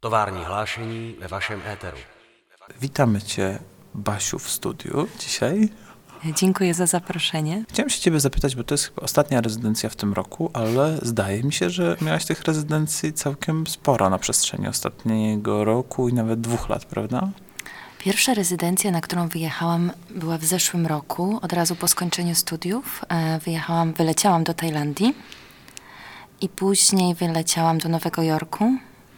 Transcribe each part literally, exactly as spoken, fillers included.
Tovární hlášení ve vašem éteru. Witamy Cię, Basiu, w studiu dzisiaj. Dziękuję za zaproszenie. Chciałem się Ciebie zapytać, bo to jest chyba ostatnia rezydencja w tym roku, ale zdaje mi się, że miałaś tych rezydencji całkiem sporo na przestrzeni ostatniego roku i nawet dwóch lat, prawda? Pierwsza rezydencja, na którą wyjechałam, była w zeszłym roku, od razu po skończeniu studiów. Wyjechałam, wyleciałam do Tajlandii i później wyleciałam do Nowego Jorku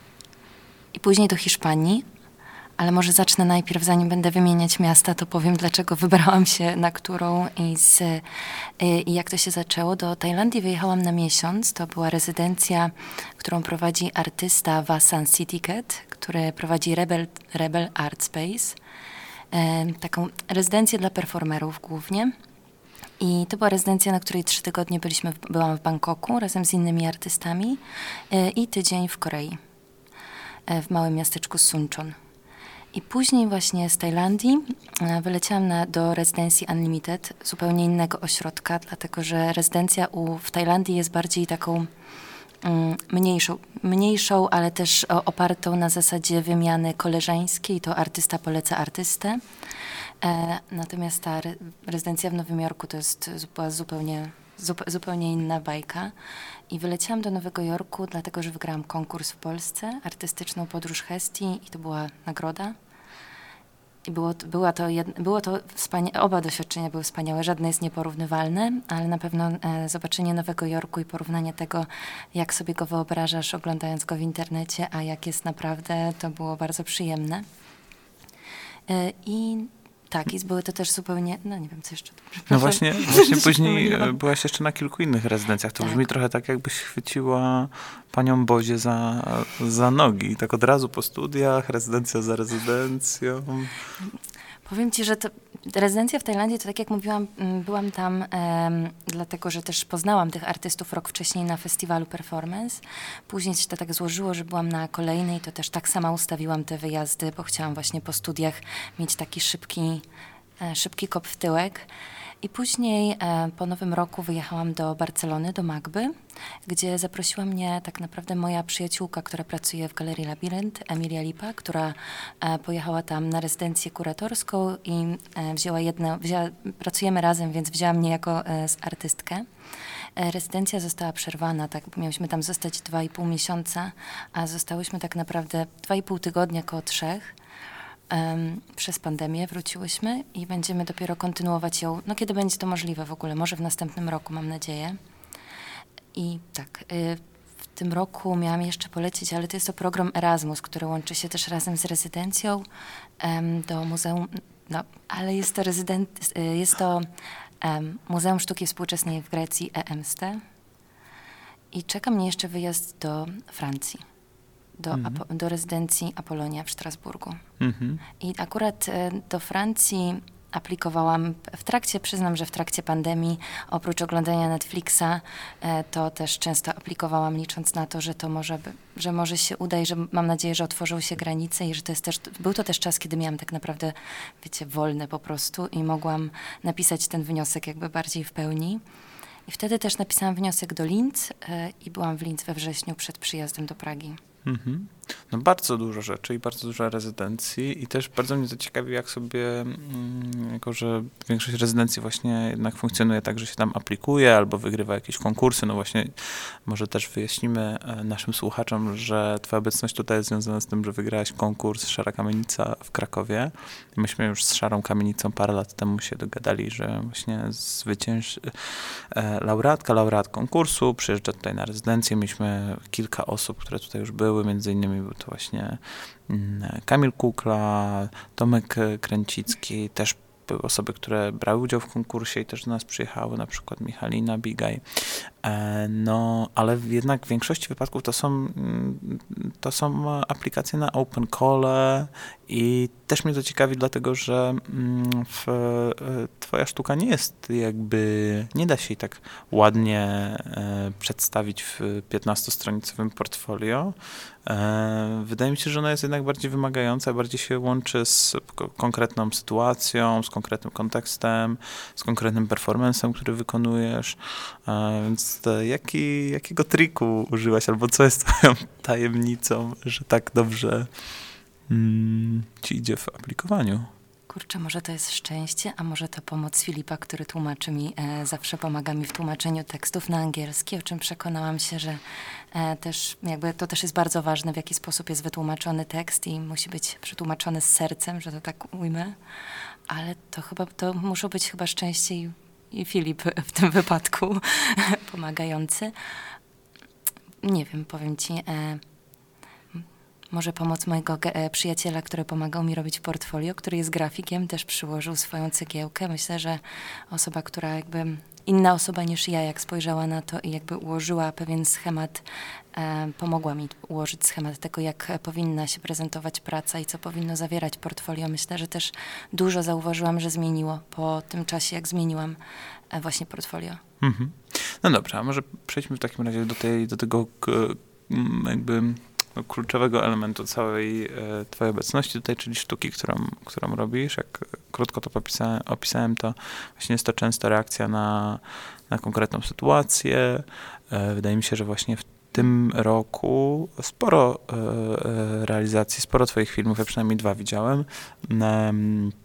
i później do Hiszpanii. Ale może zacznę najpierw, zanim będę wymieniać miasta, to powiem, dlaczego wybrałam się na którą i, z, i jak to się zaczęło. Do Tajlandii wyjechałam na miesiąc. To była rezydencja, którą prowadzi artysta Vasan Sitiket, który prowadzi Rebel, Rebel Art Space. E, taką rezydencję dla performerów głównie. I to była rezydencja, na której trzy tygodnie byliśmy, byłam w Bangkoku razem z innymi artystami e, i tydzień w Korei, e, w małym miasteczku Suncheon. I później właśnie z Tajlandii wyleciałam na, do rezydencji Unlimited, zupełnie innego ośrodka, dlatego że rezydencja u, w Tajlandii jest bardziej taką mm, mniejszą, mniejszą, ale też o, opartą na zasadzie wymiany koleżeńskiej, to artysta poleca artystę. E, natomiast ta re, rezydencja w Nowym Jorku to jest była zupełnie, zup, zupełnie inna bajka. I wyleciałam do Nowego Jorku, dlatego że wygrałam konkurs w Polsce, artystyczną podróż Hestii i to była nagroda. I było, była to jedno, było to wspania- oba doświadczenia były wspaniałe, żadne jest nieporównywalne, ale na pewno e, zobaczenie Nowego Jorku i porównanie tego, jak sobie go wyobrażasz, oglądając go w internecie, a jak jest naprawdę, to było bardzo przyjemne. E, I tak, i były to też zupełnie, no nie wiem, co jeszcze. No właśnie, właśnie później byłaś jeszcze na kilku innych rezydencjach. To tak. Brzmi trochę tak, jakbyś chwyciła panią Bozie za, za nogi. Tak od razu po studiach, rezydencja za rezydencją. Powiem ci, że to, rezydencja w Tajlandii, to tak jak mówiłam, byłam tam um, dlatego, że też poznałam tych artystów rok wcześniej na festiwalu Performance. Później się to tak złożyło, że byłam na kolejnej, to też tak sama ustawiłam te wyjazdy, bo chciałam właśnie po studiach mieć taki szybki, e, szybki kop w tyłek. I później e, po Nowym Roku wyjechałam do Barcelony, do Magby, gdzie zaprosiła mnie tak naprawdę moja przyjaciółka, która pracuje w Galerii Labirynt, Emilia Lipa, która e, pojechała tam na rezydencję kuratorską i e, wzięła jedno, wzięła, pracujemy razem, więc wzięła mnie jako e, artystkę. E, rezydencja została przerwana, tak, miałyśmy tam zostać dwa i pół miesiąca, a zostałyśmy tak naprawdę dwa i pół tygodnia, koło trzech. Um, przez pandemię wróciłyśmy i będziemy dopiero kontynuować ją, no kiedy będzie to możliwe w ogóle, może w następnym roku, mam nadzieję. I tak, y, w tym roku miałam jeszcze polecieć, ale to jest to program Erasmus, który łączy się też razem z rezydencją um, do Muzeum, no, ale jest to, rezydent, y, jest to um, Muzeum Sztuki Współczesnej w Grecji, E M S T. I czeka mnie jeszcze wyjazd do Francji. Do, mhm. Apo- do rezydencji Apolonia w Strasburgu. Mhm. I akurat e, do Francji aplikowałam w trakcie, przyznam, że w trakcie pandemii, oprócz oglądania Netflixa, e, to też często aplikowałam, licząc na to, że to może, by, że może się uda i że mam nadzieję, że otworzą się granice i że to jest też, był to też czas, kiedy miałam tak naprawdę, wiecie, wolne po prostu i mogłam napisać ten wniosek jakby bardziej w pełni. I wtedy też napisałam wniosek do Linz e, i byłam w Linz we wrześniu przed przyjazdem do Pragi. Mhm. No bardzo dużo rzeczy i bardzo dużo rezydencji i też bardzo mnie to ciekawi, jak sobie, mm, jako że większość rezydencji właśnie jednak funkcjonuje tak, że się tam aplikuje albo wygrywa jakieś konkursy, no właśnie może też wyjaśnimy naszym słuchaczom, że twoja obecność tutaj jest związana z tym, że wygrałaś konkurs Szara Kamienica w Krakowie. Myśmy już z Szarą Kamienicą parę lat temu się dogadali, że właśnie zwycięż... laureatka, laureat konkursu przyjeżdża tutaj na rezydencję. Mieliśmy kilka osób, które tutaj już były, między innymi był to właśnie Kamil Kukla, Tomek Kręcicki, też były osoby, które brały udział w konkursie i też do nas przyjechały, na przykład Michalina Bigaj. No, ale jednak w większości wypadków to są, to są aplikacje na open call I też mnie to ciekawi, dlatego że mm, w, e, twoja sztuka nie jest jakby, nie da się jej tak ładnie e, przedstawić w piętnastostronicowym portfolio. E, wydaje mi się, że ona jest jednak bardziej wymagająca, bardziej się łączy z ko- konkretną sytuacją, z konkretnym kontekstem, z konkretnym performancem, który wykonujesz. E, więc to, jaki, jakiego triku użyłaś, albo co jest twoją tajemnicą, że tak dobrze mm, ci idzie w aplikowaniu? Kurczę, może to jest szczęście, a może to pomoc Filipa, który tłumaczy mi, e, zawsze pomaga mi w tłumaczeniu tekstów na angielski, o czym przekonałam się, że e, też jakby to też jest bardzo ważne, w jaki sposób jest wytłumaczony tekst i musi być przetłumaczony z sercem, że to tak ujmę, ale to chyba, to muszą być chyba szczęście i, i Filip w tym wypadku pomagający. Nie wiem, powiem ci... E, Może pomoc mojego ge- przyjaciela, który pomagał mi robić portfolio, który jest grafikiem, też przyłożył swoją cegiełkę. Myślę, że osoba, która jakby, inna osoba niż ja, jak spojrzała na to i jakby ułożyła pewien schemat, e, pomogła mi ułożyć schemat tego, jak powinna się prezentować praca i co powinno zawierać portfolio. Myślę, że też dużo zauważyłam, że zmieniło po tym czasie, jak zmieniłam e, właśnie portfolio. Mhm. No dobrze, a może przejdźmy w takim razie do, tej, do tego k- m, jakby... No, kluczowego elementu całej e, twojej obecności tutaj, czyli sztuki, którą, którą robisz. Jak krótko to popisałem, opisałem, to właśnie jest to często reakcja na, na konkretną sytuację. E, wydaje mi się, że właśnie w tym roku sporo e, realizacji, sporo twoich filmów, ja przynajmniej dwa widziałem, e,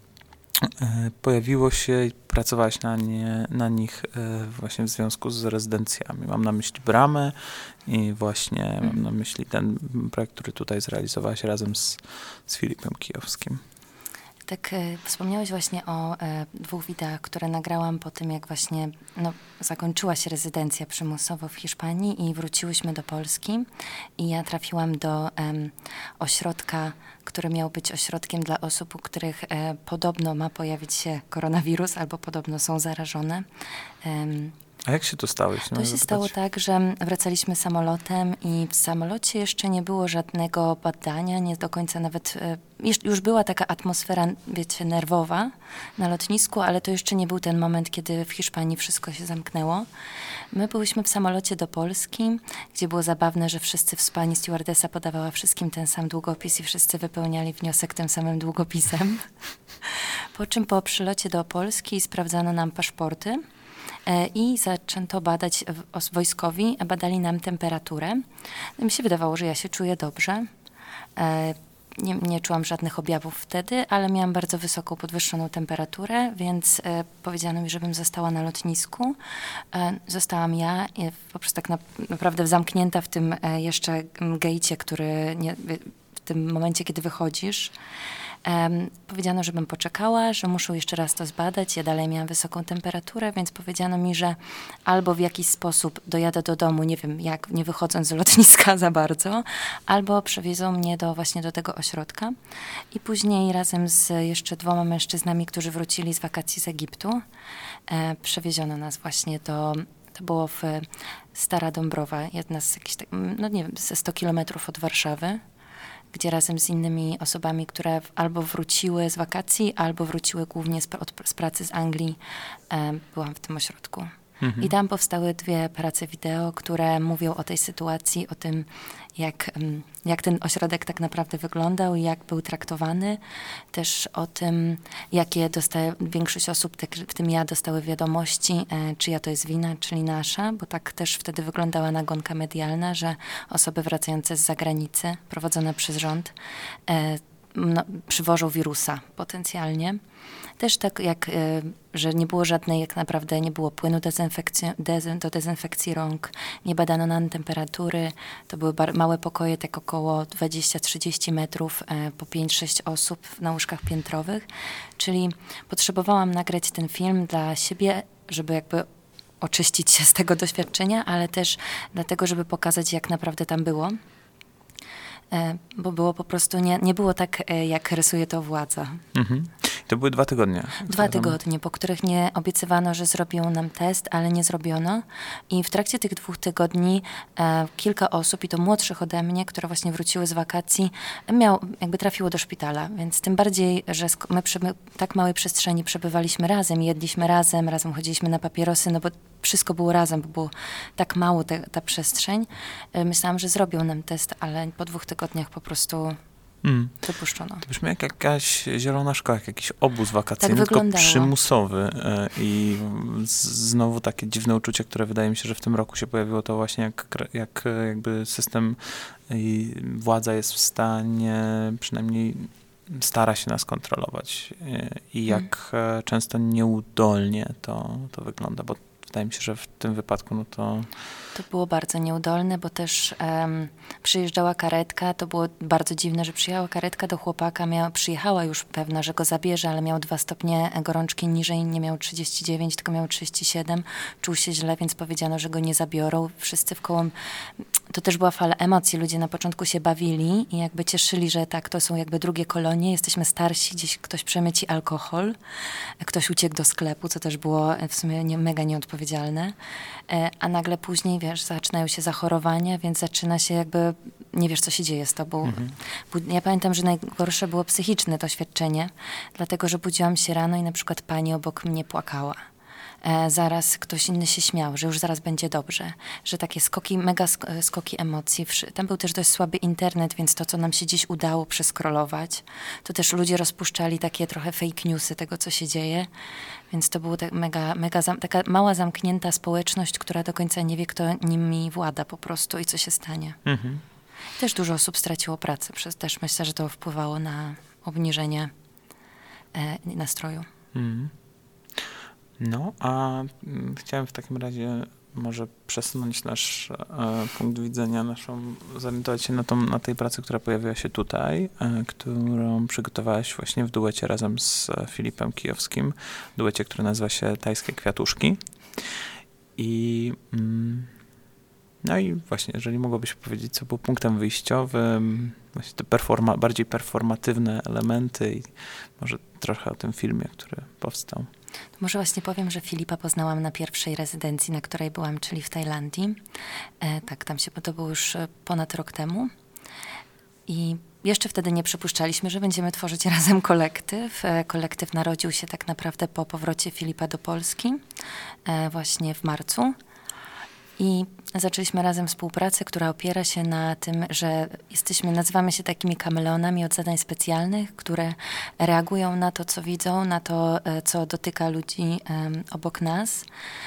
pojawiło się i pracowałaś na, nie, na nich właśnie w związku z rezydencjami. Mam na myśli Bramę i właśnie mm. mam na myśli ten projekt, który tutaj zrealizowałaś razem z, z Filipem Kijowskim. Tak, e, wspomniałeś właśnie o e, dwóch wideach, które nagrałam po tym, jak właśnie no, zakończyła się rezydencja przymusowo w Hiszpanii i wróciłyśmy do Polski. I ja trafiłam do em, ośrodka, który miał być ośrodkiem dla osób, u których e, podobno ma pojawić się koronawirus albo podobno są zarażone. Em, A jak się to stało? To się zapytać? stało tak, że wracaliśmy samolotem i w samolocie jeszcze nie było żadnego badania, nie do końca nawet, już była taka atmosfera, wiecie, nerwowa na lotnisku, ale to jeszcze nie był ten moment, kiedy w Hiszpanii wszystko się zamknęło. My byliśmy w samolocie do Polski, gdzie było zabawne, że wszyscy w pani stewardesa podawała wszystkim ten sam długopis i wszyscy wypełniali wniosek tym samym długopisem. Po czym po przylocie do Polski sprawdzano nam paszporty. I zaczęto badać wojskowi, badali nam temperaturę. Mi się wydawało, że ja się czuję dobrze. Nie, nie czułam żadnych objawów wtedy, ale miałam bardzo wysoką, podwyższoną temperaturę, więc e, powiedziano mi, żebym została na lotnisku. E, zostałam ja, e, po prostu tak na, naprawdę zamknięta w tym e, jeszcze gejcie, który nie, w tym momencie, kiedy wychodzisz. Um, powiedziano, żebym poczekała, że muszą jeszcze raz to zbadać. Ja dalej miałam wysoką temperaturę, więc powiedziano mi, że albo w jakiś sposób dojadę do domu, nie wiem jak, nie wychodząc z lotniska za bardzo, albo przewiezą mnie do, właśnie do tego ośrodka. I później razem z jeszcze dwoma mężczyznami, którzy wrócili z wakacji z Egiptu, e, przewieziono nas właśnie do... To było w Stara Dąbrowa, jedna z jakichś, tak, no nie wiem, ze sto kilometrów od Warszawy, gdzie razem z innymi osobami, które albo wróciły z wakacji, albo wróciły głównie z, od, z pracy z Anglii, e, byłam w tym ośrodku. Mhm. I tam powstały dwie prace wideo, które mówią o tej sytuacji, o tym, jak, jak ten ośrodek tak naprawdę wyglądał i jak był traktowany. Też o tym, jakie dostaje, większość osób, w tym ja, dostały wiadomości, e, czyja to jest wina, czyli nasza, bo tak też wtedy wyglądała nagonka medialna, że osoby wracające z zagranicy, prowadzone przez rząd, e, no, przywożą wirusa potencjalnie. Też tak jak, y, że nie było żadnej, jak naprawdę nie było płynu dezynfekcji, dezyn, do dezynfekcji rąk, nie badano nam temperatury, to były bar- małe pokoje, tak około dwadzieścia trzydzieści metrów, y, po pięć sześć osób na łóżkach piętrowych, czyli potrzebowałam nagrać ten film dla siebie, żeby jakby oczyścić się z tego doświadczenia, ale też dlatego, żeby pokazać, jak naprawdę tam było. Bo było po prostu, nie, nie było tak, jak rysuje to władza. Mhm. To były dwa tygodnie. Dwa tygodnie, po których nie obiecywano, że zrobią nam test, ale nie zrobiono. I w trakcie tych dwóch tygodni e, kilka osób, i to młodszych ode mnie, które właśnie wróciły z wakacji, miał, jakby trafiło do szpitala. Więc tym bardziej, że sk- my przy tak małej przestrzeni przebywaliśmy razem, jedliśmy razem, razem chodziliśmy na papierosy, no bo wszystko było razem, bo było tak mało te, ta przestrzeń. E, myślałam, że zrobią nam test, ale po dwóch tygodniach po prostu mm. wypuszczono. To brzmi jak jakaś zielona szkoła, jak jakiś obóz wakacyjny, tak tylko przymusowy. I znowu takie dziwne uczucie, które wydaje mi się, że w tym roku się pojawiło, to właśnie jak, jak jakby system i władza jest w stanie, przynajmniej stara się nas kontrolować i jak hmm. często nieudolnie to, to wygląda, bo wydaje mi się, że w tym wypadku no to... To było bardzo nieudolne, bo też um, przyjeżdżała karetka, to było bardzo dziwne, że przyjechała karetka do chłopaka, miała, przyjechała już pewna, że go zabierze, ale miał dwa stopnie gorączki niżej, nie miał trzydzieści dziewięć, tylko miał trzydzieści siedem, czuł się źle, więc powiedziano, że go nie zabiorą. Wszyscy wkoło, to też była fala emocji, ludzie na początku się bawili i jakby cieszyli, że tak, to są jakby drugie kolonie, jesteśmy starsi, gdzieś ktoś przemyci alkohol, ktoś uciekł do sklepu, co też było w sumie nie, mega nieodpowiedzialne, a nagle później, wiesz, zaczynają się zachorowania, więc zaczyna się jakby, nie wiesz, co się dzieje z tobą. Mhm. Ja pamiętam, że najgorsze było psychiczne doświadczenie, dlatego, że budziłam się rano i na przykład pani obok mnie płakała. E, zaraz ktoś inny się śmiał, że już zaraz będzie dobrze, że takie skoki, mega sk- skoki emocji. Tam był też dość słaby internet, więc to, co nam się dziś udało przeskrolować, to też ludzie rozpuszczali takie trochę fake newsy tego, co się dzieje, więc to była tak mega, mega zam- taka mała, zamknięta społeczność, która do końca nie wie, kto nimi włada po prostu i co się stanie. Mhm. Też dużo osób straciło pracę, przez też myślę, że to wpływało na obniżenie e, nastroju. Mhm. No, a mm, chciałem w takim razie może przesunąć nasz e, punkt widzenia, naszą, zorientować się na, tą, na tej pracy, która pojawiła się tutaj, e, którą przygotowałaś właśnie w duecie razem z Filipem Kijowskim, duecie, który nazywa się Tajskie Kwiatuszki. I mm, no i właśnie, jeżeli mogłabyś powiedzieć, co było punktem wyjściowym, właśnie te performa- bardziej performatywne elementy i może trochę o tym filmie, który powstał. To może właśnie powiem, że Filipa poznałam na pierwszej rezydencji, na której byłam, czyli w Tajlandii. E, tak, tam się, bo to było już ponad rok temu. I jeszcze wtedy nie przypuszczaliśmy, że będziemy tworzyć razem kolektyw. E, kolektyw narodził się tak naprawdę po powrocie Filipa do Polski, e, właśnie w marcu. I zaczęliśmy razem współpracę, która opiera się na tym, że jesteśmy, nazywamy się takimi kameleonami od zadań specjalnych, które reagują na to, co widzą, na to, co dotyka ludzi um, obok nas.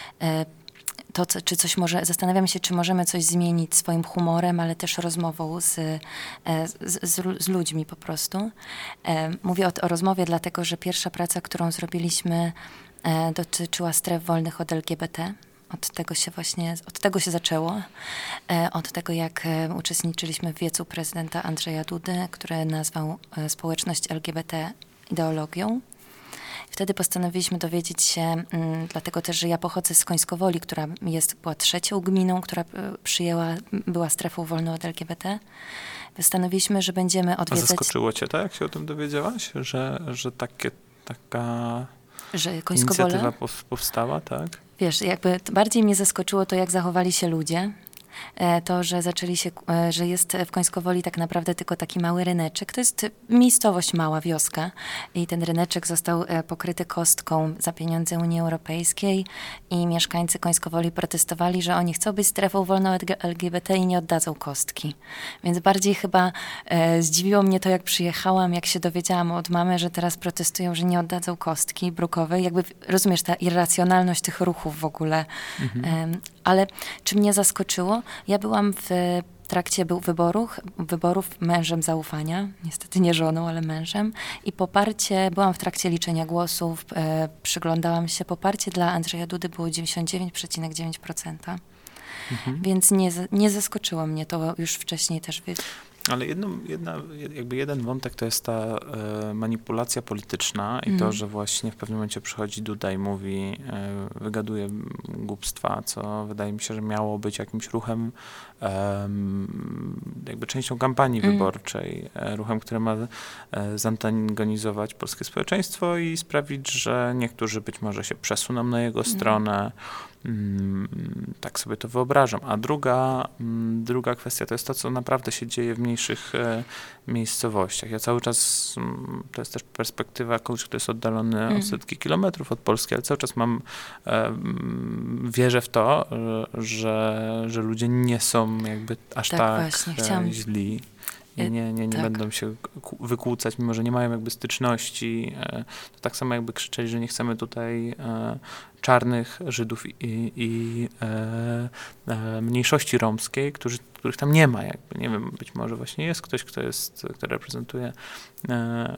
To, co, czy coś może, zastanawiamy się, czy możemy coś zmienić swoim humorem, ale też rozmową z, z, z, z ludźmi po prostu. Mówię o, o rozmowie dlatego, że pierwsza praca, którą zrobiliśmy, dotyczyła stref wolnych od L G B T. Od tego się właśnie, od tego się zaczęło. Od tego, jak uczestniczyliśmy w wiecu prezydenta Andrzeja Dudy, który nazwał społeczność L G B T ideologią. Wtedy postanowiliśmy dowiedzieć się, m, dlatego też, że ja pochodzę z Końskowoli, która jest, była trzecią gminą, która przyjęła, była strefą wolną od L G B T. Postanowiliśmy, że będziemy odwiedzać... A zaskoczyło cię, tak, jak się o tym dowiedziałaś? Że, że takie, taka że inicjatywa powstała, tak? Wiesz, jakby bardziej mnie zaskoczyło to, jak zachowali się ludzie. To, że zaczęli się, że jest w Końskowoli tak naprawdę tylko taki mały ryneczek. To jest miejscowość, mała wioska i ten ryneczek został pokryty kostką za pieniądze Unii Europejskiej i mieszkańcy Końskowoli protestowali, że oni chcą być strefą wolną od L G B T i nie oddadzą kostki. Więc bardziej chyba e, zdziwiło mnie to, jak przyjechałam, jak się dowiedziałam od mamy, że teraz protestują, że nie oddadzą kostki brukowej. Jakby, rozumiesz, ta irracjonalność tych ruchów w ogóle. Mhm. E, ale czy mnie zaskoczyło? Ja byłam w trakcie był wyborów, wyborów mężem zaufania, niestety nie żoną, ale mężem i poparcie, byłam w trakcie liczenia głosów, e, przyglądałam się, poparcie dla Andrzeja Dudy było dziewięćdziesiąt dziewięć przecinek dziewięć procent. Mhm. Więc nie, nie zaskoczyło mnie to już wcześniej też. Ale jedną, jedna, jakby jeden wątek to jest ta e, manipulacja polityczna i mm. to, że właśnie w pewnym momencie przychodzi Duda i mówi, e, wygaduje głupstwa, co wydaje mi się, że miało być jakimś ruchem, e, jakby częścią kampanii mm. wyborczej, e, ruchem, który ma e, zantagonizować polskie społeczeństwo i sprawić, że niektórzy być może się przesuną na jego mm. stronę. Tak sobie to wyobrażam. A druga, druga kwestia to jest to, co naprawdę się dzieje w mniejszych e, miejscowościach. Ja cały czas, to jest też perspektywa kogoś, kto jest oddalony mm. o setki kilometrów od Polski, ale cały czas mam, e, wierzę w to, że, że ludzie nie są jakby aż tak, tak właśnie, chciałam... źli. I nie, nie, nie tak. będą się wykłócać, mimo że nie mają jakby styczności. To tak samo jakby krzyczeli, że nie chcemy tutaj e, czarnych Żydów i, i e, e, mniejszości romskiej, którzy, których tam nie ma. Jakby. Nie wiem, być może właśnie jest ktoś, kto jest, kto reprezentuje e,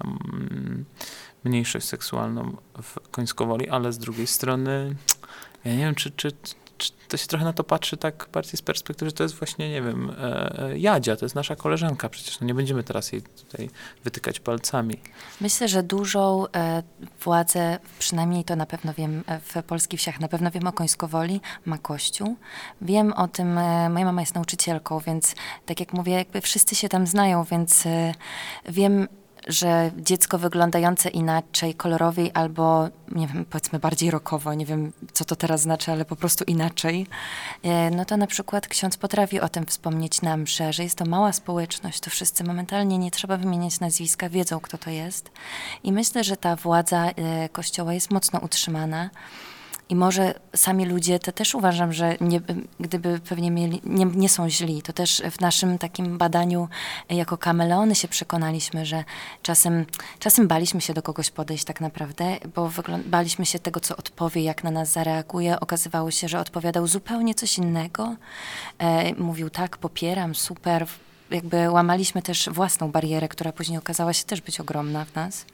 mniejszość seksualną w Końskowoli, ale z drugiej strony ja nie wiem, czy, czy to się trochę na to patrzy tak bardziej z perspektywy, że to jest właśnie, nie wiem, e, Jadzia, to jest nasza koleżanka, przecież no nie będziemy teraz jej tutaj wytykać palcami. Myślę, że dużą e, władzę, przynajmniej to na pewno wiem, w polskich wsiach, na pewno wiem o Końskowoli, ma Kościół. Wiem o tym, e, moja mama jest nauczycielką, więc tak jak mówię, jakby wszyscy się tam znają, więc e, wiem, że dziecko wyglądające inaczej, kolorowiej albo, nie wiem, powiedzmy bardziej rockowo, nie wiem, co to teraz znaczy, ale po prostu inaczej, no to na przykład ksiądz potrafi o tym wspomnieć na mszy, że jest to mała społeczność, to wszyscy momentalnie, nie trzeba wymieniać nazwiska, wiedzą, kto to jest. I myślę, że ta władza Kościoła jest mocno utrzymana. I może sami ludzie, to też uważam, że nie, gdyby pewnie mieli, nie, nie są źli, to też w naszym takim badaniu jako kameleony się przekonaliśmy, że czasem, czasem baliśmy się do kogoś podejść tak naprawdę, bo baliśmy się tego, co odpowie, jak na nas zareaguje. Okazywało się, że odpowiadał zupełnie coś innego. E, mówił tak, popieram, super. Jakby łamaliśmy też własną barierę, która później okazała się też być ogromna w nas.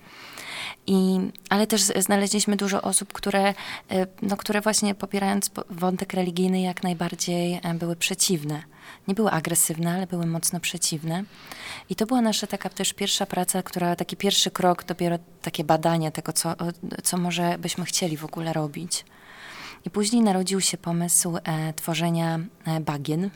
I, ale też znaleźliśmy dużo osób, które, no, które właśnie popierając wątek religijny jak najbardziej były przeciwne. Nie były agresywne, ale były mocno przeciwne. I to była nasza taka też pierwsza praca, która, taki pierwszy krok, dopiero takie badanie tego, co, co może byśmy chcieli w ogóle robić. I później narodził się pomysł e, tworzenia e, bagien.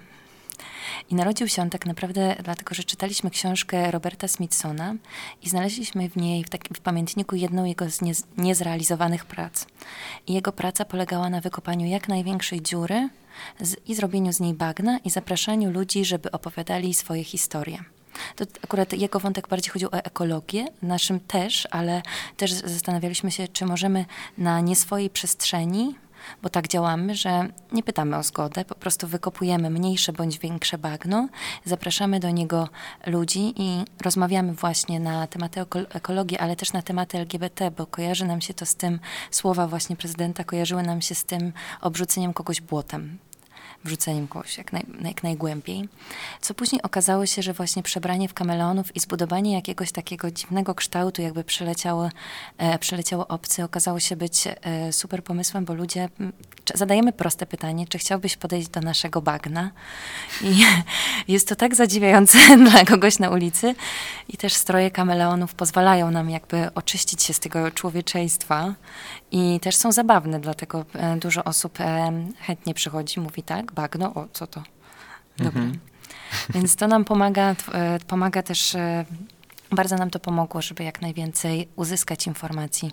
I narodził się on tak naprawdę dlatego, że czytaliśmy książkę Roberta Smithsona i znaleźliśmy w niej, w, takim, w pamiętniku, jedną jego z nie, niezrealizowanych prac. I jego praca polegała na wykopaniu jak największej dziury z, i zrobieniu z niej bagna i zapraszaniu ludzi, żeby opowiadali swoje historie. To akurat jego wątek bardziej chodził o ekologię, naszym też, ale też zastanawialiśmy się, czy możemy na nie swojej przestrzeni, bo tak działamy, że nie pytamy o zgodę, po prostu wykopujemy mniejsze bądź większe bagno, zapraszamy do niego ludzi i rozmawiamy właśnie na tematy ekologii, ale też na tematy L G B T, bo kojarzy nam się to z tym, słowa właśnie prezydenta kojarzyły nam się z tym obrzuceniem kogoś błotem. Wrzuceniem kogoś jak, naj, jak najgłębiej. Co później okazało się, że właśnie przebranie w kameleonów i zbudowanie jakiegoś takiego dziwnego kształtu, jakby przyleciało, e, przyleciało obcy, okazało się być e, super pomysłem, bo ludzie, m, zadajemy proste pytanie, czy chciałbyś podejść do naszego bagna? I jest to tak zadziwiające dla kogoś na ulicy. I też stroje kameleonów pozwalają nam jakby oczyścić się z tego człowieczeństwa i też są zabawne, dlatego e, dużo osób e, chętnie przychodzi, mówi tak, bagno, o, co to? Dobra. Mm-hmm. Więc to nam pomaga, e, pomaga też, e, bardzo nam to pomogło, żeby jak najwięcej uzyskać informacji.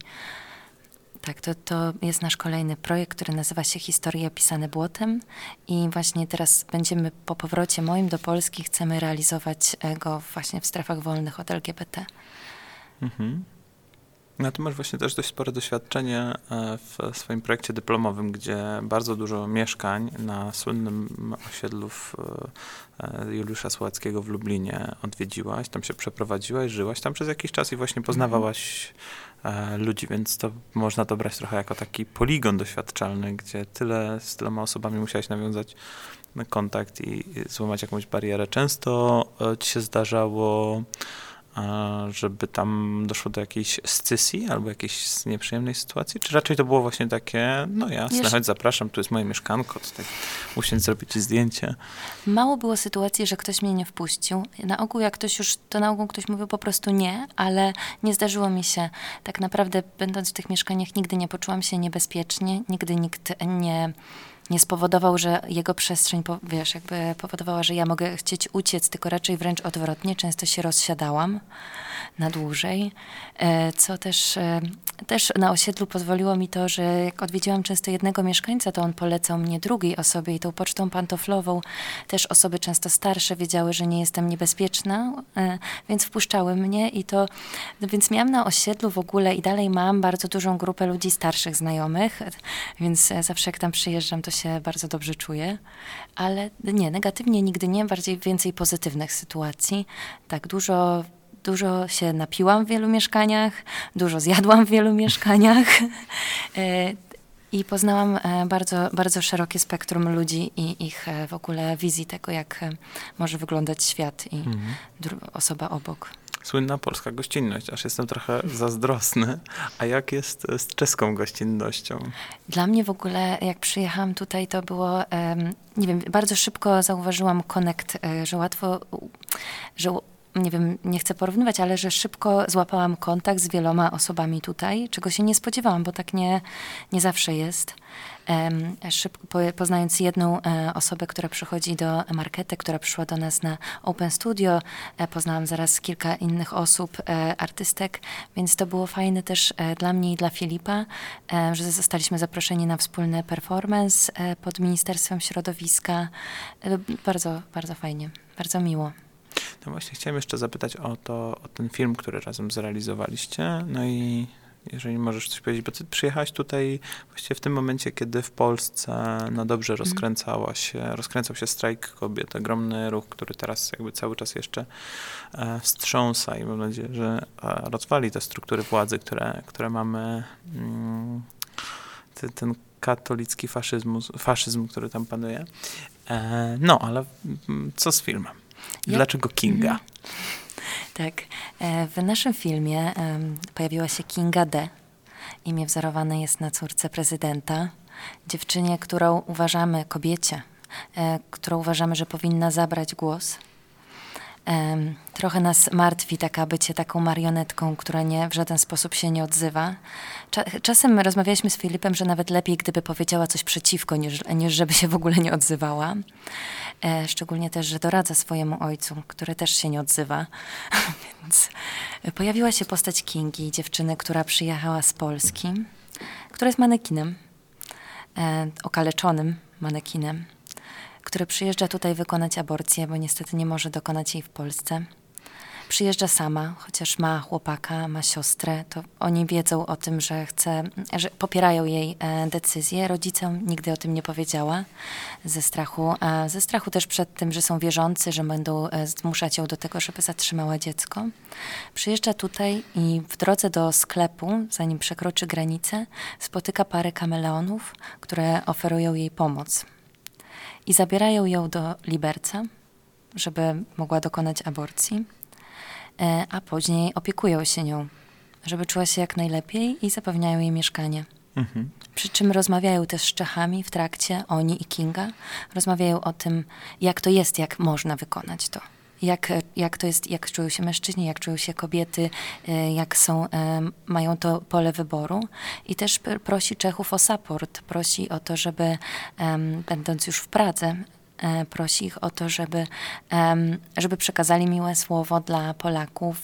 Tak, to, to jest nasz kolejny projekt, który nazywa się Historie pisane błotem i właśnie teraz będziemy po powrocie moim do Polski, chcemy realizować go właśnie w strefach wolnych od L G B T. Mhm. No ty masz właśnie też dość spore doświadczenie w swoim projekcie dyplomowym, gdzie bardzo dużo mieszkań na słynnym osiedlu w Juliusza Słowackiego w Lublinie odwiedziłaś, tam się przeprowadziłaś, żyłaś tam przez jakiś czas i właśnie poznawałaś mhm. ludzi, więc to można to brać trochę jako taki poligon doświadczalny, gdzie tyle z tyloma osobami musiałaś nawiązać kontakt i złamać jakąś barierę. Często ci się zdarzało żeby tam doszło do jakiejś scysji albo jakiejś nieprzyjemnej sytuacji? Czy raczej to było właśnie takie, no jasne, Wiesz, chodź zapraszam, tu jest moje mieszkanko, tutaj usiądź, zrobić ci zdjęcie. Mało było sytuacji, że ktoś mnie nie wpuścił. Na ogół jak ktoś już, to na ogół ktoś mówił po prostu nie, ale nie zdarzyło mi się. Tak naprawdę będąc w tych mieszkaniach nigdy nie poczułam się niebezpiecznie, nigdy nikt nie... nie spowodował, że jego przestrzeń, wiesz, jakby powodowała, że ja mogę chcieć uciec, tylko raczej wręcz odwrotnie. Często się rozsiadałam na dłużej, co też, też na osiedlu pozwoliło mi to, że jak odwiedziłam często jednego mieszkańca, to on polecał mnie drugiej osobie i tą pocztą pantoflową też osoby często starsze wiedziały, że nie jestem niebezpieczna, więc wpuszczały mnie i to, no więc miałam na osiedlu w ogóle i dalej mam bardzo dużą grupę ludzi starszych znajomych, więc zawsze jak tam przyjeżdżam, to się bardzo dobrze czuję, ale nie, negatywnie nigdy nie, bardziej więcej pozytywnych sytuacji. Tak, dużo Dużo się napiłam w wielu mieszkaniach, dużo zjadłam w wielu mieszkaniach i poznałam bardzo, bardzo szerokie spektrum ludzi i ich w ogóle wizji tego, jak może wyglądać świat i mhm. osoba obok. Słynna polska gościnność, aż jestem trochę zazdrosny. A jak jest z czeską gościnnością? Dla mnie w ogóle, jak przyjechałam tutaj, to było, nie wiem, bardzo szybko zauważyłam connect, że łatwo, że nie wiem, nie chcę porównywać, ale że szybko złapałam kontakt z wieloma osobami tutaj, czego się nie spodziewałam, bo tak nie, nie zawsze jest. Um, szybko, po, poznając jedną e, osobę, która przychodzi do Markety, która przyszła do nas na Open Studio, e, poznałam zaraz kilka innych osób, e, artystek, więc to było fajne też e, dla mnie i dla Filipa, e, że zostaliśmy zaproszeni na wspólny performance e, pod Ministerstwem Środowiska. E, bardzo, bardzo fajnie, bardzo miło. No właśnie, chciałem jeszcze zapytać o to, o ten film, który razem zrealizowaliście. No i jeżeli możesz coś powiedzieć, bo ty przyjechałaś tutaj właściwie w tym momencie, kiedy w Polsce no dobrze rozkręcała się, rozkręcał się strajk kobiet, ogromny ruch, który teraz jakby cały czas jeszcze e, wstrząsa i mam nadzieję, że e, rozwali te struktury władzy, które, które mamy, mm, ty, ten katolicki faszyzm, faszyzm, który tam panuje. E, no, ale mm, co z filmem? Dlaczego Kinga? Mhm. Tak. W naszym filmie um, pojawiła się Kinga D. Imię wzorowane jest na córce prezydenta. Dziewczynie, którą uważamy, kobiecie, e, którą uważamy, że powinna zabrać głos. E, trochę nas martwi taka bycie taką marionetką, która nie, w żaden sposób się nie odzywa. Cza- czasem rozmawialiśmy z Filipem, że nawet lepiej, gdyby powiedziała coś przeciwko, niż, niż żeby się w ogóle nie odzywała. E, szczególnie też, że doradza swojemu ojcu, który też się nie odzywa. Więc pojawiła się postać Kingi, dziewczyny, która przyjechała z Polski, która jest manekinem, e, okaleczonym manekinem, który przyjeżdża tutaj wykonać aborcję, bo niestety nie może dokonać jej w Polsce. Przyjeżdża sama, chociaż ma chłopaka, ma siostrę, to oni wiedzą o tym, że chce, że popierają jej e, decyzję. Rodzicom nigdy o tym nie powiedziała ze strachu, a ze strachu też przed tym, że są wierzący, że będą e, zmuszać ją do tego, żeby zatrzymała dziecko. Przyjeżdża tutaj i w drodze do sklepu, zanim przekroczy granicę, spotyka parę kameleonów, które oferują jej pomoc. I zabierają ją do Liberca, żeby mogła dokonać aborcji. A później opiekują się nią, żeby czuła się jak najlepiej i zapewniają jej mieszkanie. Mhm. Przy czym rozmawiają też z Czechami w trakcie, oni i Kinga, rozmawiają o tym, jak to jest, jak można wykonać to. Jak, jak to jest, jak czują się mężczyźni, jak czują się kobiety, jak są, mają to pole wyboru. I też prosi Czechów o support, prosi o to, żeby będąc już w Pradze, prosi ich o to, żeby, żeby przekazali miłe słowo dla Polaków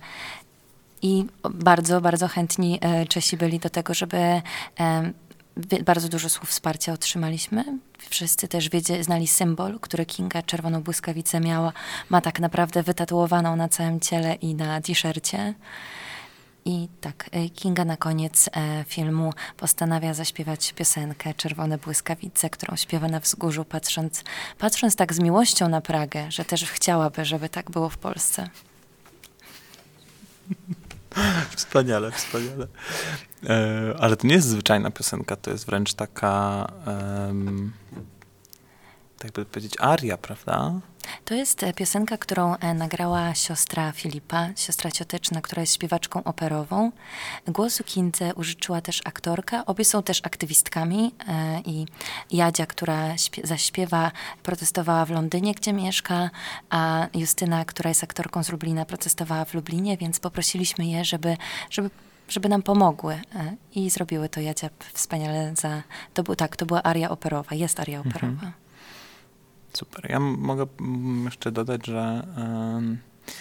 i bardzo, bardzo chętni Czesi byli do tego, żeby bardzo dużo słów wsparcia otrzymaliśmy. Wszyscy też wiedzie, znali symbol, który Kinga czerwoną błyskawicę miała, ma tak naprawdę wytatuowaną na całym ciele i na t-shircie. I tak, Kinga na koniec e, filmu postanawia zaśpiewać piosenkę Czerwone błyskawice, którą śpiewa na wzgórzu, patrząc, patrząc tak z miłością na Pragę, że też chciałaby, żeby tak było w Polsce. Wspaniale, wspaniale. E, ale to nie jest zwyczajna piosenka, to jest wręcz taka, um, tak by powiedzieć, aria, prawda? To jest e, piosenka, którą e, nagrała siostra Filipa, siostra cioteczna, która jest śpiewaczką operową. Głosu Kindze użyczyła też aktorka. Obie są też aktywistkami e, i Jadzia, która śpie- zaśpiewa, protestowała w Londynie, gdzie mieszka, a Justyna, która jest aktorką z Lublina, protestowała w Lublinie, więc poprosiliśmy je, żeby, żeby żeby nam pomogły. E, I zrobiły to Jadzia wspaniale za... To był, tak, to była aria operowa, jest aria operowa. Mhm. Super. Ja m- mogę mm, jeszcze dodać, że ym,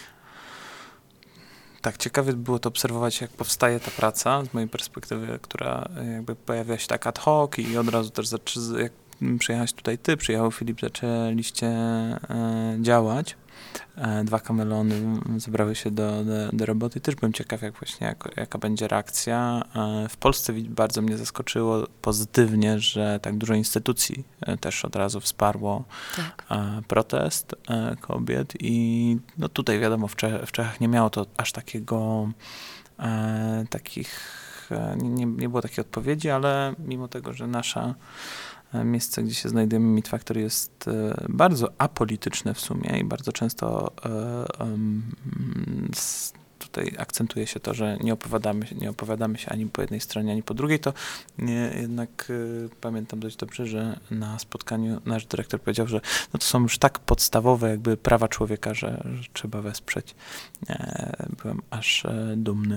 tak, ciekawie było to obserwować, jak powstaje ta praca, z mojej perspektywy, która jakby pojawia się tak ad hoc i od razu też, zaczy- jak przyjechałeś tutaj ty, przyjechał Filip, zaczęliście e, działać. E, dwa kamelony zebrały się do, do, do roboty. Też byłem ciekaw, jak właśnie, jak, jaka będzie reakcja. E, w Polsce bardzo mnie zaskoczyło pozytywnie, że tak dużo instytucji e, też od razu wsparło Tak. e, protest e, kobiet i no tutaj wiadomo, w, Czech, w Czechach nie miało to aż takiego e, takich, e, nie, nie było takiej odpowiedzi, ale mimo tego, że nasza miejsce, gdzie się znajdujemy, Meat Factory, jest e, bardzo apolityczne w sumie i bardzo często e, um, s, tutaj akcentuje się to, że nie opowiadamy, nie opowiadamy się ani po jednej stronie, ani po drugiej, to nie, jednak e, pamiętam dość dobrze, że na spotkaniu nasz dyrektor powiedział, że no to są już tak podstawowe jakby prawa człowieka, że, że trzeba wesprzeć. E, byłem aż e, dumny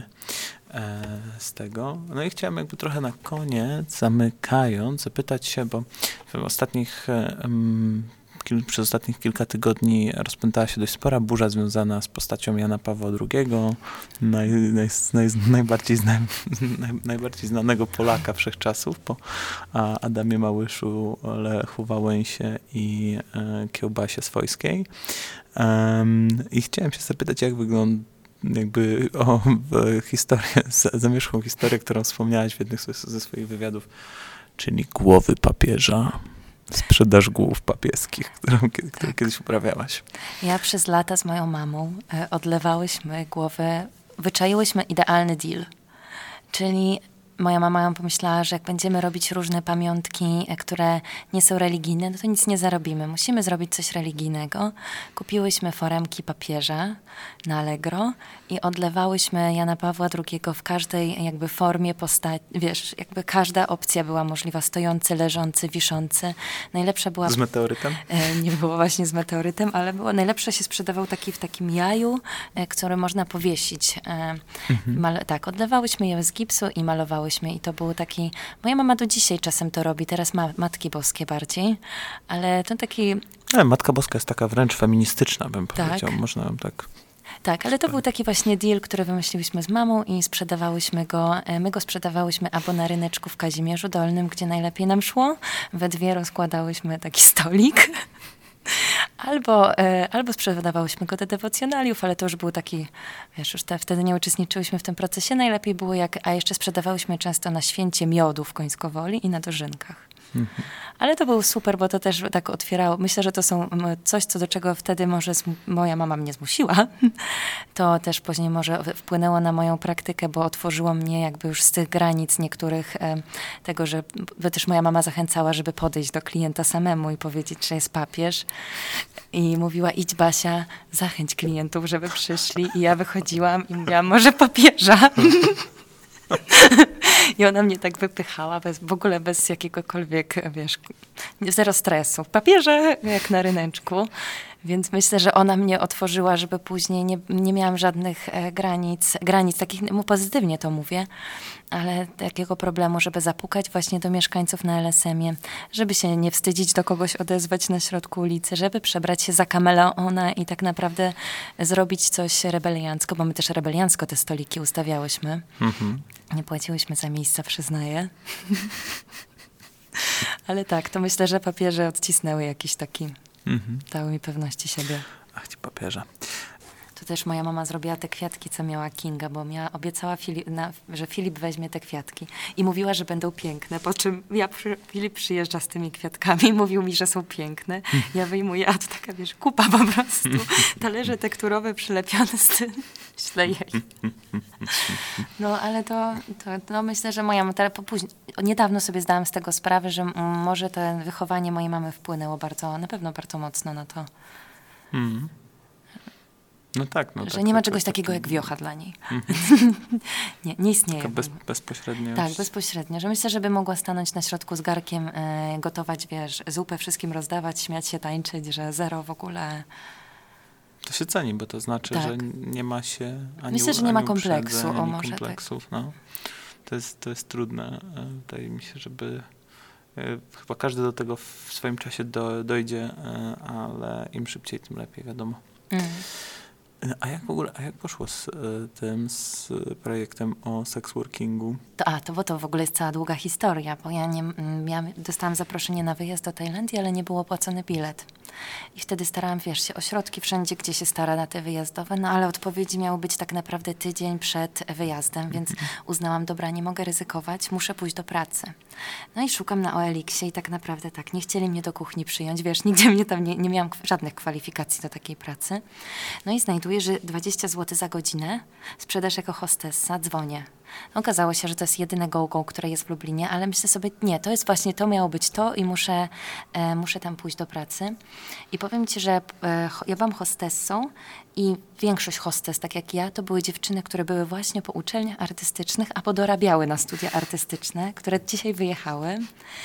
z tego. No i chciałem jakby trochę na koniec, zamykając, zapytać się, bo w ostatnich, um, kil, przez ostatnich kilka tygodni rozpętała się dość spora burza związana z postacią Jana Pawła drugiego, naj, naj, naj, najbardziej, zna, naj, najbardziej znanego Polaka wszechczasów, po Adamie Małyszu, Lechu Wałęsie i e, Kiełbasie Swojskiej. Um, I chciałem się zapytać, jak wygląda jakby o historię, zamierzchłą historię, którą wspomniałaś w jednym ze swoich wywiadów, czyli głowy papieża, sprzedaż głów papieskich, którą, którą tak. kiedyś uprawiałaś. Ja przez lata z moją mamą e, odlewałyśmy głowę, wyczaiłyśmy idealny deal, czyli moja mama ją pomyślała, że jak będziemy robić różne pamiątki, które nie są religijne, no to nic nie zarobimy. Musimy zrobić coś religijnego. Kupiłyśmy foremki papieża na Allegro i odlewałyśmy Jana Pawła drugiego w każdej jakby formie postaci. Wiesz, jakby każda opcja była możliwa. Stojący, leżący, wiszący. Najlepsza była... Z meteorytem? E, nie było właśnie z meteorytem, ale było, najlepsze się sprzedawał taki w takim jaju, e, który można powiesić. E, mhm. mal, tak, odlewałyśmy je z gipsu i malowałyśmy. I to był taki... Moja mama do dzisiaj czasem to robi, teraz ma Matki Boskie bardziej, ale to taki... Ale Matka Boska jest taka wręcz feministyczna, bym tak. powiedział. Można ją tak... Tak, ale to był taki właśnie deal, który wymyśliłyśmy z mamą i sprzedawałyśmy go, my go sprzedawałyśmy albo na ryneczku w Kazimierzu Dolnym, gdzie najlepiej nam szło. We dwie rozkładałyśmy taki stolik. Albo, e, albo sprzedawałyśmy go do dewocjonaliów, ale to już był taki, wiesz, już te, wtedy nie uczestniczyłyśmy w tym procesie. Najlepiej było jak, a jeszcze sprzedawałyśmy często na święcie miodu w Końskowoli i na dożynkach. Mhm. Ale to był super, bo to też tak otwierało. Myślę, że to są coś, co do czego wtedy może zm- moja mama mnie zmusiła. To też później może wpłynęło na moją praktykę, bo otworzyło mnie jakby już z tych granic niektórych e, tego, że bo też moja mama zachęcała, żeby podejść do klienta samemu i powiedzieć, że jest papież. I mówiła, idź Basia, zachęć klientów, żeby przyszli. I ja wychodziłam i mówiłam, może papieża. I ona mnie tak wypychała, bez, w ogóle bez jakiegokolwiek, wiesz, zero stresu. Papierze, jak na ryneczku. Więc myślę, że ona mnie otworzyła, żeby później nie, nie miałam żadnych e, granic, granic, takich, mu pozytywnie to mówię, ale takiego problemu, żeby zapukać właśnie do mieszkańców na L S M-ie, żeby się nie wstydzić do kogoś odezwać na środku ulicy, żeby przebrać się za kameleona i tak naprawdę zrobić coś rebeliancko, bo my też rebeliancko te stoliki ustawiałyśmy. Mhm. Nie płaciłyśmy za miejsca, przyznaję. Ale tak, to myślę, że papieże odcisnęły jakiś taki... Mhm. Dały mi pewności siebie. Ach, ci papieża. To też moja mama zrobiła te kwiatki, co miała Kinga, bo miała, obiecała, Filip, na, że Filip weźmie te kwiatki i mówiła, że będą piękne, po czym ja przy, Filip przyjeżdża z tymi kwiatkami i mówił mi, że są piękne. Ja wyjmuję, a to taka, wiesz, kupa po prostu. Talerze tekturowe przylepione z tym. Myślę, jej. No, ale to, to no, myślę, że moja mama, później, niedawno sobie zdałam z tego sprawę, że m, może to wychowanie mojej mamy wpłynęło bardzo, na pewno bardzo mocno na to. Mm. No tak. No że tak, nie ma tak, czegoś tak, takiego tak. jak wiocha dla niej. Mhm. nie, nie istnieje. Taka bez, bezpośrednio. Tak, bezpośrednio. Że myślę, żeby mogła stanąć na środku z garkiem, e, gotować, wiesz, zupę wszystkim rozdawać, śmiać się, tańczyć, że zero w ogóle. To się ceni, bo to znaczy, Tak. że nie ma się ani Myślę, że ani nie ma kompleksu, uprzedzeń, o ani może kompleksów. No. To jest, to jest trudne. E, Wydaje mi się, żeby e, chyba każdy do tego w swoim czasie do, dojdzie, e, ale im szybciej, tym lepiej, wiadomo. Mm. A jak w ogóle, a jak poszło z e, tym, z projektem o sex workingu? To, a, to bo to w ogóle jest cała długa historia, bo ja nie, m, miałam, dostałam zaproszenie na wyjazd do Tajlandii, ale nie był opłacony bilet. I wtedy starałam, wiesz, się o środki wszędzie, gdzie się stara na te wyjazdowe, no ale odpowiedzi miały być tak naprawdę tydzień przed wyjazdem, więc uznałam, dobra, nie mogę ryzykować, muszę pójść do pracy. No i szukam na O L X-ie i tak naprawdę tak, nie chcieli mnie do kuchni przyjąć, wiesz, nigdzie mnie tam nie, nie miałam żadnych kwalifikacji do takiej pracy. No i znajduję, że dwadzieścia złotych za godzinę, sprzedaż jako hostessa, dzwonię. Okazało się, że to jest jedyne go-go, które jest w Lublinie, ale myślę sobie, nie, to jest właśnie, to miało być to i muszę, e, muszę tam pójść do pracy. I powiem ci, że e, ja byłam hostessą i większość hostes, tak jak ja, to były dziewczyny, które były właśnie po uczelniach artystycznych, a podorabiały na studia artystyczne, które dzisiaj wyjechały.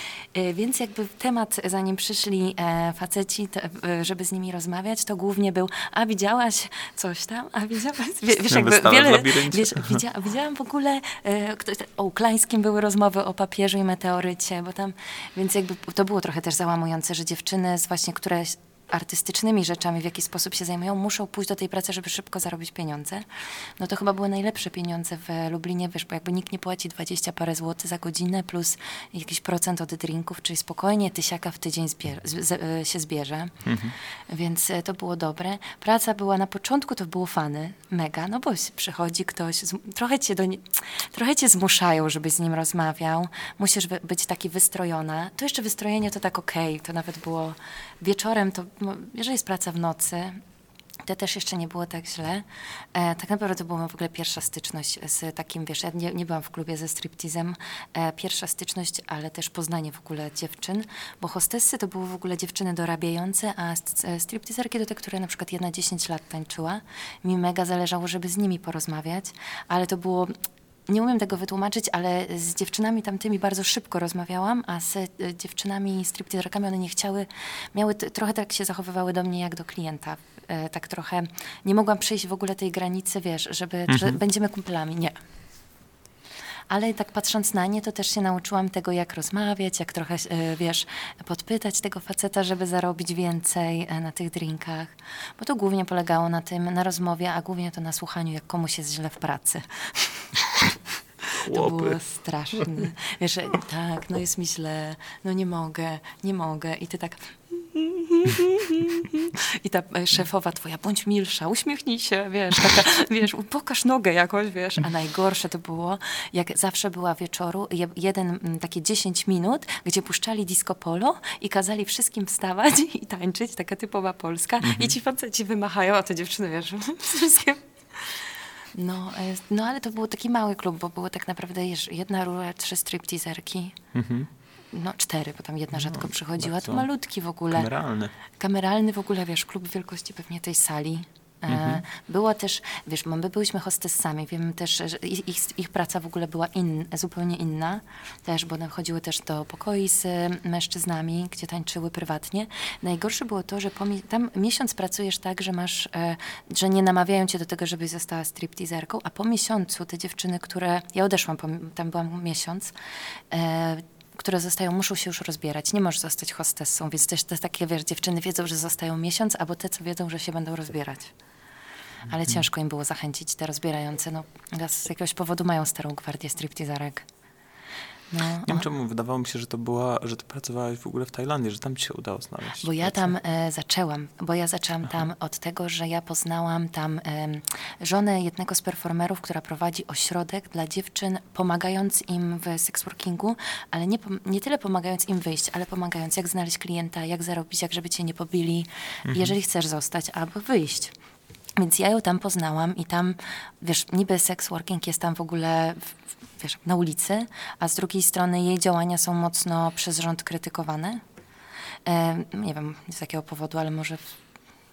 E, więc jakby temat, zanim przyszli e, faceci, to, e, żeby z nimi rozmawiać, to głównie był, a widziałaś coś tam, a widziałaś, wie, wiesz, jakby wiele, wiesz, widzia, widziałam w ogóle, e, kto, o Uklańskim były rozmowy o papieżu i meteorycie, bo tam, więc jakby to było trochę też załamujące, że dziewczyny z właśnie, które artystycznymi rzeczami, w jaki sposób się zajmują, muszą pójść do tej pracy, żeby szybko zarobić pieniądze. No to chyba były najlepsze pieniądze w Lublinie, wiesz, bo jakby nikt nie płaci dwadzieścia parę złotych za godzinę plus jakiś procent od drinków, czyli spokojnie tysiaka w tydzień zbier- z- z- się zbierze. Mhm. Więc to było dobre. Praca była na początku, to było fany, mega, no bo przychodzi ktoś, z, trochę, cię do nie, trochę cię zmuszają, żebyś z nim rozmawiał. Musisz wy, być taki wystrojona. To jeszcze wystrojenie to tak okej, okay. To nawet było wieczorem, to jeżeli jest praca w nocy, to też jeszcze nie było tak źle. E, tak naprawdę to była w ogóle pierwsza styczność z takim, wiesz, ja nie, nie byłam w klubie ze striptizem, e, pierwsza styczność, ale też poznanie w ogóle dziewczyn, bo hostessy to były w ogóle dziewczyny dorabiające, a striptizerki to te, które na przykład jedna dziesięć lat tańczyła. Mi mega zależało, żeby z nimi porozmawiać, ale to było... Nie umiem tego wytłumaczyć, ale z dziewczynami tamtymi bardzo szybko rozmawiałam, a z y, dziewczynami stripteaserkami one nie chciały, miały t- trochę tak się zachowywały do mnie jak do klienta. Y, tak trochę nie mogłam przejść w ogóle tej granicy, wiesz, żeby, mhm. że będziemy kumplami. Nie. Ale tak patrząc na nie, to też się nauczyłam tego, jak rozmawiać, jak trochę, y, wiesz, podpytać tego faceta, żeby zarobić więcej y, na tych drinkach. Bo to głównie polegało na tym, na rozmowie, a głównie to na słuchaniu, jak komuś jest źle w pracy. To było straszne. Wiesz, tak, no jest mi źle, no nie mogę, nie mogę. I ty tak... I ta szefowa twoja, bądź milsza, uśmiechnij się, wiesz, taka, wiesz, pokaż nogę jakoś, wiesz. A najgorsze to było, jak zawsze była wieczoru, jeden, takie dziesięć minut, gdzie puszczali disco polo i kazali wszystkim wstawać i tańczyć, taka typowa Polska. Mhm. I ci faceci wymachają, a te dziewczyny, wiesz, wszystkie... No, no, ale to był taki mały klub, bo było tak naprawdę jedna rura, trzy stripteaserki. Mhm. No cztery, bo tam jedna rzadko no, przychodziła. To malutki w ogóle. Kameralny. Kameralny w ogóle, wiesz, klub wielkości pewnie tej sali. Mhm. E, było też, wiesz, my byliśmy hostessami, wiem też, że ich, ich, ich praca w ogóle była in, zupełnie inna, też, bo one chodziły też do pokoi z mężczyznami, gdzie tańczyły prywatnie. Najgorsze było to, że po, tam miesiąc pracujesz tak, że masz, e, że nie namawiają cię do tego, żebyś została stripteaserką, a po miesiącu te dziewczyny, które, ja odeszłam, po, tam byłam miesiąc, e, które zostają, muszą się już rozbierać. Nie możesz zostać hostessą, więc też te takie, wiesz, dziewczyny wiedzą, że zostają miesiąc, albo te, co wiedzą, że się będą rozbierać. Ale hmm. ciężko im było zachęcić te rozbierające. No, z jakiegoś powodu mają starą gwardię stripteaserek. No, nie wiem czemu, wydawało mi się, że to była, że ty pracowałaś w ogóle w Tajlandii, że tam ci się udało znaleźć. Bo ja tam e, zaczęłam, bo ja zaczęłam Aha. tam od tego, że ja poznałam tam e, żonę jednego z performerów, która prowadzi ośrodek dla dziewczyn, pomagając im w seksworkingu, ale nie, nie tyle pomagając im wyjść, ale pomagając jak znaleźć klienta, jak zarobić, jak żeby cię nie pobili, mhm. jeżeli chcesz zostać albo wyjść. Więc ja ją tam poznałam i tam, wiesz, niby sex working jest tam w ogóle, wiesz, na ulicy, a z drugiej strony jej działania są mocno przez rząd krytykowane. E, nie wiem z jakiego powodu, ale może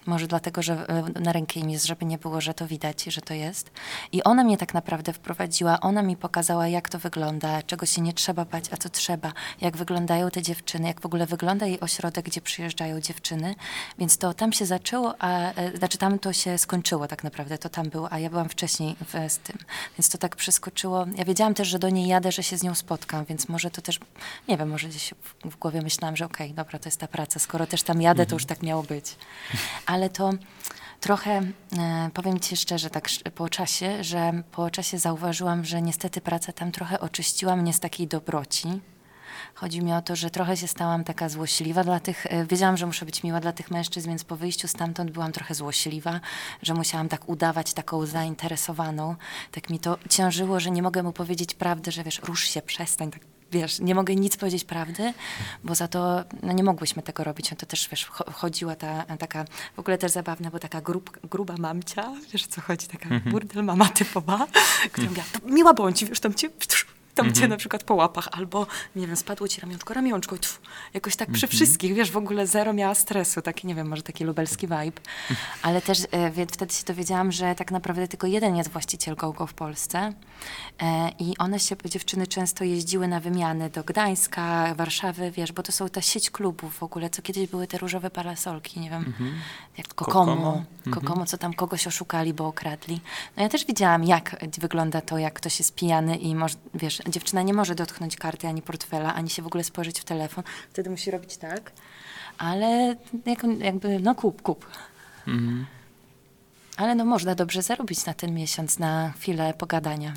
Może dlatego, że e, na rękę im jest, żeby nie było, że to widać, że to jest. I ona mnie tak naprawdę wprowadziła, ona mi pokazała, jak to wygląda, czego się nie trzeba bać, a co trzeba, jak wyglądają te dziewczyny, jak w ogóle wygląda jej ośrodek, gdzie przyjeżdżają dziewczyny. Więc to tam się zaczęło, a e, znaczy tam to się skończyło tak naprawdę, to tam było, a ja byłam wcześniej w, z tym. Więc to tak przeskoczyło. Ja wiedziałam też, że do niej jadę, że się z nią spotkam, więc może to też, nie wiem, może gdzieś w, w głowie myślałam, że okej, okay, dobra, to jest ta praca, skoro też tam jadę, to już tak miało być. Ale to trochę, e, powiem ci szczerze, tak po czasie, że po czasie zauważyłam, że niestety praca tam trochę oczyściła mnie z takiej dobroci. Chodzi mi o to, że trochę się stałam taka złośliwa dla tych, e, wiedziałam, że muszę być miła dla tych mężczyzn, więc po wyjściu stamtąd byłam trochę złośliwa, że musiałam tak udawać taką zainteresowaną. Tak mi to ciężyło, że nie mogę mu powiedzieć prawdy, że wiesz, rusz się, przestań, tak. Wiesz, nie mogę nic powiedzieć prawdy, bo za to no nie mogłyśmy tego robić. No to też, wiesz, chodziła ta taka, w ogóle też zabawna, bo taka grub, gruba mamcia, wiesz o co chodzi, taka mm-hmm. burdel mama typowa, która mówiła, miła bądź, wiesz, tam cię, tam mm-hmm. cię na przykład po łapach, albo, nie wiem, spadło ci ramionczko, ramionczko, tfu, jakoś tak przy mm-hmm. wszystkich, wiesz, w ogóle zero miała stresu, taki, nie wiem, może taki lubelski vibe. Ale też e, wie, wtedy się dowiedziałam, że tak naprawdę tylko jeden jest właściciel GoGo w Polsce e, i one się, dziewczyny często jeździły na wymiany do Gdańska, Warszawy, wiesz, bo to są ta sieć klubów w ogóle, co kiedyś były te różowe parasolki, nie wiem, mm-hmm. jak Kokomo, Kokomo, Kokomo mm-hmm. co tam kogoś oszukali, bo okradli. No ja też widziałam, jak wygląda to, jak ktoś jest pijany i może, wiesz, dziewczyna nie może dotknąć karty, ani portfela, ani się w ogóle spojrzeć w telefon. Wtedy musi robić tak. Ale jak, jakby, no kup, kup. Mhm. Ale no można dobrze zarobić na ten miesiąc, na chwilę pogadania.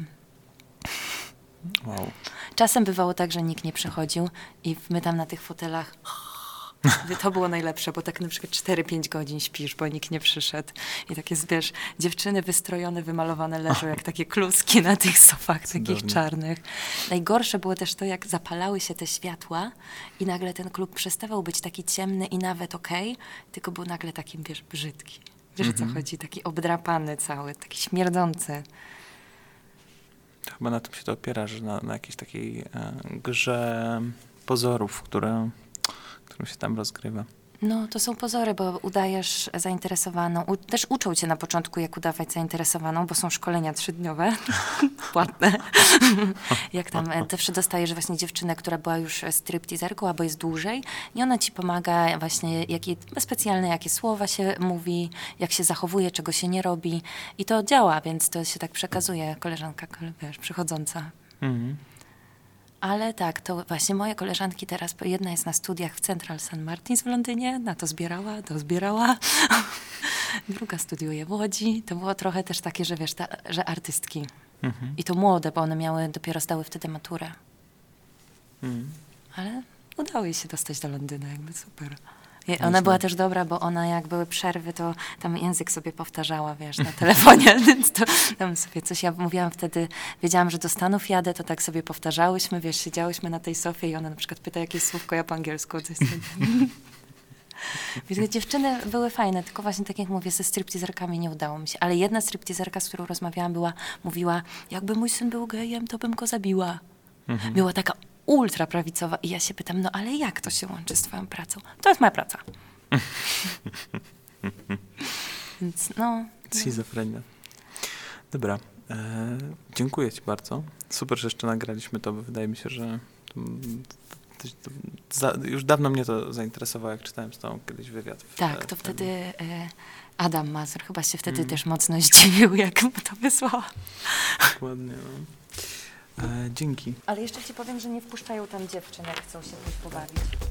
Wow. Czasem bywało tak, że nikt nie przychodził i my tam na tych fotelach... To było najlepsze, bo tak na przykład cztery pięć godzin śpisz, bo nikt nie przyszedł. I takie, wiesz, dziewczyny wystrojone, wymalowane leżą jak takie kluski na tych sofach Cudownie. Takich czarnych. Najgorsze było też to, jak zapalały się te światła i nagle ten klub przestawał być taki ciemny i nawet okej, okay, tylko był nagle taki, wiesz, brzydki. Wiesz, mm-hmm. o co chodzi? Taki obdrapany cały, taki śmierdzący. To chyba na tym się to opiera, że na, na jakiejś takiej e, grze pozorów, które... którą się tam rozgrywa. No, to są pozory, bo udajesz zainteresowaną. U, też uczą cię na początku, jak udawać zainteresowaną, bo są szkolenia trzydniowe, płatne. Jak tam zawsze dostajesz właśnie dziewczynę, która była już stripteaserką, albo jest dłużej i ona ci pomaga właśnie, jakie, specjalne jakie słowa się mówi, jak się zachowuje, czego się nie robi. I to działa, więc to się tak przekazuje koleżanka, wiesz, przychodząca. Mhm. Ale tak, to właśnie moje koleżanki teraz, jedna jest na studiach w Central Saint Martins w Londynie, na to zbierała, to zbierała. Druga studiuje w Łodzi. To było trochę też takie, że wiesz, ta, że artystki. Mhm. I to młode, bo one miały, dopiero zdały wtedy maturę. Mhm. Ale udało jej się dostać do Londynu, jakby super. I ona była też dobra, bo ona jak były przerwy, to tam język sobie powtarzała, wiesz, na telefonie, więc to tam sobie coś, ja mówiłam wtedy, wiedziałam, że do Stanów jadę, to tak sobie powtarzałyśmy, wiesz, siedziałyśmy na tej sofie i ona na przykład pyta jakieś słówko, ja po angielsku. Coś Więc dziewczyny były fajne, tylko właśnie tak jak mówię, ze stripteaserkami nie udało mi się. Ale jedna stripteaserka, z którą rozmawiałam, była, mówiła, jakby mój syn był gejem, to bym go zabiła. Mhm. Była taka ultra prawicowa i ja się pytam, no ale jak to się łączy z twoją pracą? To jest moja praca. Więc no. Schizofrenia. Dobra. E, dziękuję ci bardzo. Super, że jeszcze nagraliśmy to, bo wydaje mi się, że to, to, to, za, już dawno mnie to zainteresowało, jak czytałem z tobą kiedyś wywiad. W, tak, to w wtedy e, Adam Mazur chyba się wtedy mm. też mocno zdziwił, jak mu to wysłała. Dokładnie, no. E, dzięki. Ale jeszcze ci powiem, że nie wpuszczają tam dziewczyn, jak chcą się pójść pobawić.